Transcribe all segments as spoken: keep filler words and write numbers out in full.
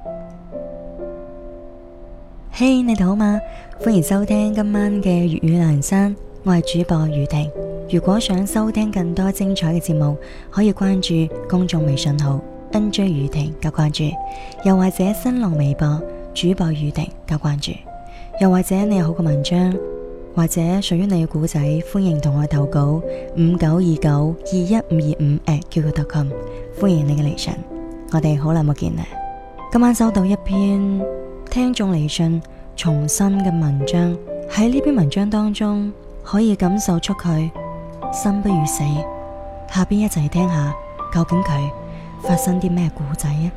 嘿，hey， 你哋好嗎？歡迎收聽今晚嘅粵語梁山，我係主播雨婷。如果想收聽更多精彩嘅節目，可以關注公眾微信號 N J 雨婷加關注，又或者新浪微博主播雨婷加關注。又或者你有好嘅文章，或者屬於你嘅故仔，歡迎同我投稿五九二九二一五二五 at Q Q 點 com， 歡迎你嘅嚟信。我哋好耐冇見啦，今晚收到一篇聽眾嚟信重新嘅文章，喺呢篇文章當中可以感受出佢生不如死。下邊一齊去聽下究竟佢發生啲咩故仔啊？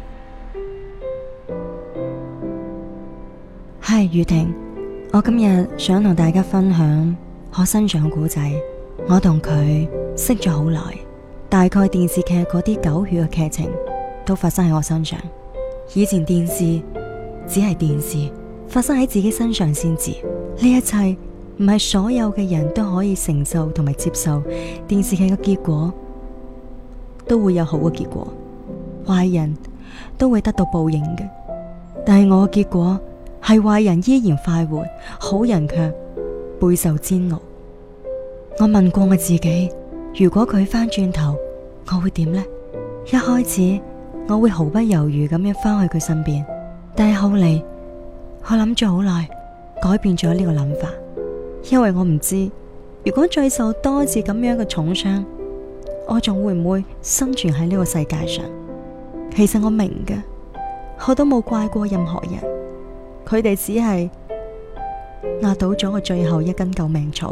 係雨婷，我今日想同大家分享我身上嘅故仔。我同佢識咗好耐，大概電視劇嗰啲狗血嘅劇情都發生喺我身上。以前電視只係電視，發生喺自己身上先知。呢一切唔係所有嘅人都可以承受同埋接受。電視劇嘅結果都會有好嘅結果，壞人都會得到報應嘅。但係我嘅結果係壞人依然快活，好人卻備受煎熬。我問過我自己，如果佢翻轉頭，我會點呢？一開始我會毫不猶豫咁樣翻去佢身邊，但係後嚟我諗咗好耐，改變咗呢個諗法，因為我唔知如果再受多次咁樣嘅重傷，我仲會唔會生存喺呢個世界上？其實我明嘅，我都冇怪過任何人，佢哋只係壓倒咗我最後一根救命草。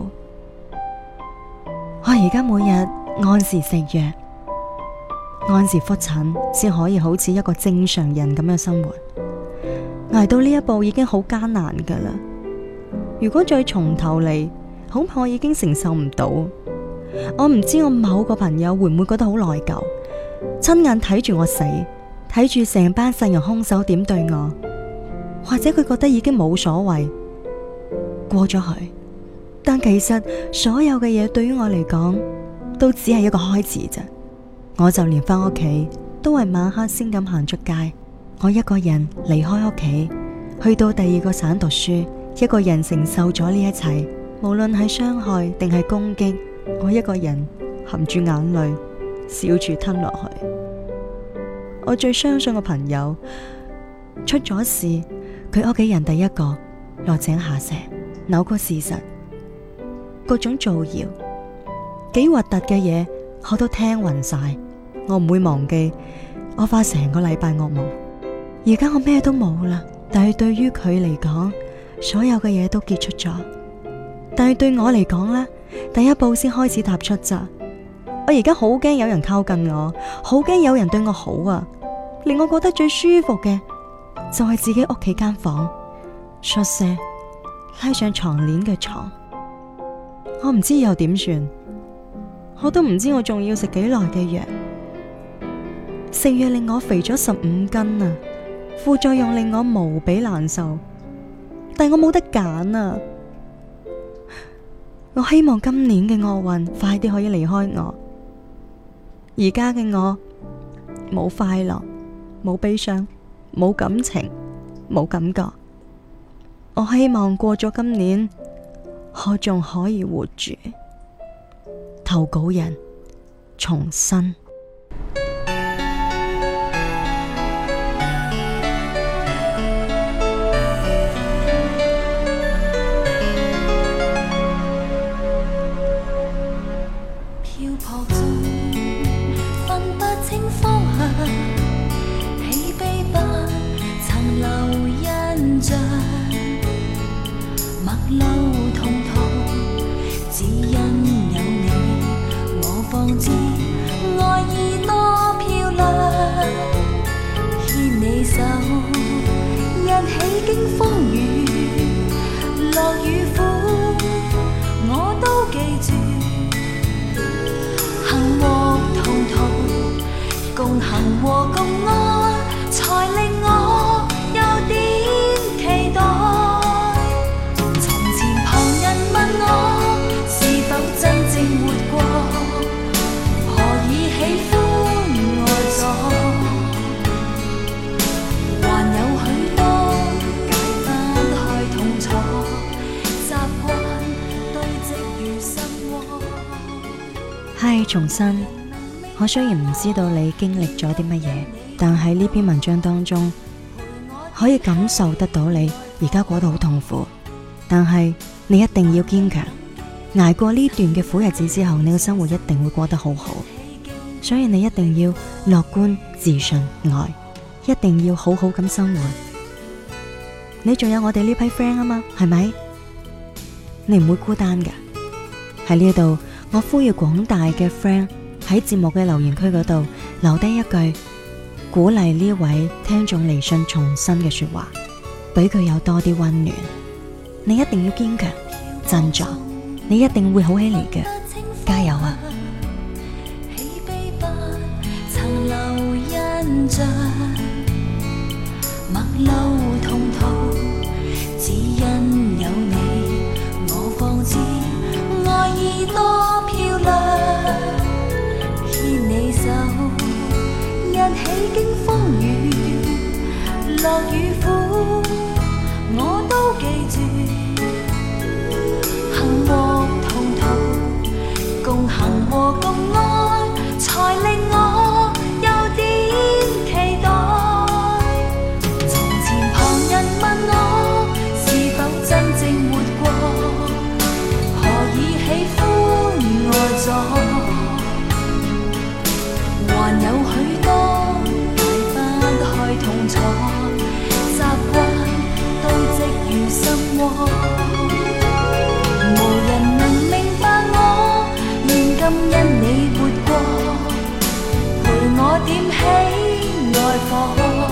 我而家每日按時食藥，按時復診，先可以好似一個正常人咁樣生活。捱到呢一步已經好艱難噶啦，如果再從頭嚟，恐怕我已經承受唔到。我唔知我某個朋友會唔會覺得好內疚，親眼睇住我死，睇住成班殺人兇手點對我，或者佢覺得已經冇所謂，過咗去。但其實所有嘅嘢對於我嚟講都只係一個開始啫。我就連翻屋企都係晚黑先咁行出街，我一個人離開屋企，去到第二個省讀書，一個人承受咗呢一切，無論係傷害定係攻擊，我一個人含住眼淚笑住吞落去。我最相信嘅朋友出咗事，佢屋企人第一個落井下石，扭曲事實，各種造謠，幾核突嘅嘢我都聽暈晒。我唔會忘記我發成個禮拜噩夢。而家我咩都冇啦，但係對於佢嚟講，所有嘅嘢都結束咗。但係對我嚟講呢，第一步先開始踏出咋。我而家好驚有人靠近我，好驚有人對我好啊。令我覺得最舒服嘅就係自己屋企間房，宿舍拉上床簾嘅床。我唔知又點算，我都唔知我仲要食幾耐嘅藥。食藥令我肥咗十五斤啊，副作用令我無比難受，但我冇得揀啊。我希望今年嘅厄運快啲可以離開我。而家嘅我冇快樂，冇悲傷，冇感情，冇感覺。我希望過咗今年，我仲可以活住。投稿人重生。 漂泊中分不清方向，喜悲不曾留印象，陌路同途，只因有你，我方知愛意多漂亮。牽你手，一起經風雨，樂與苦，我都記住。幸禍同途，共行和共愛，才令我有點期待。從前旁人問我是否真正活過，何以喜歡愛咗，還有重申，我雖然唔知道你經歷咗啲乜嘢，但喺呢篇文章當中可以感受得到你而家過得好痛苦，但係你一定要堅強，捱過呢段嘅苦日子之後，你嘅生活一定會過得好好。所以你一定要樂觀、自信、愛，一定要好好咁生活。你仲有我哋呢批 friend 啊嘛，係咪？你唔會孤單㗎。喺呢度，我呼籲廣大嘅 friend 喺節目嘅留言區嗰度留低一句鼓勵呢位聽眾嚟信重新嘅說話，俾佢有多啲溫暖。你一定要堅強振作，你一定會好起嚟嘅，加油啊！ 喜悲不曾留印象，陌路同途，只因有你，我方知愛意多漂亮。牽你手，一起經風雨，樂與苦，我都記住。幸禍同途，共行和共愛，才令我有點期待。從前旁人問我是否真正活過，何以喜歡愛咗？還有許多解不開痛楚，習慣都積如心窩。無人能明白我，現今因你活過，陪我點起愛火，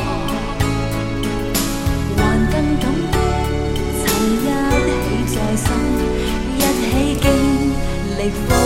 還更感激曾一起在心，一起經歷風。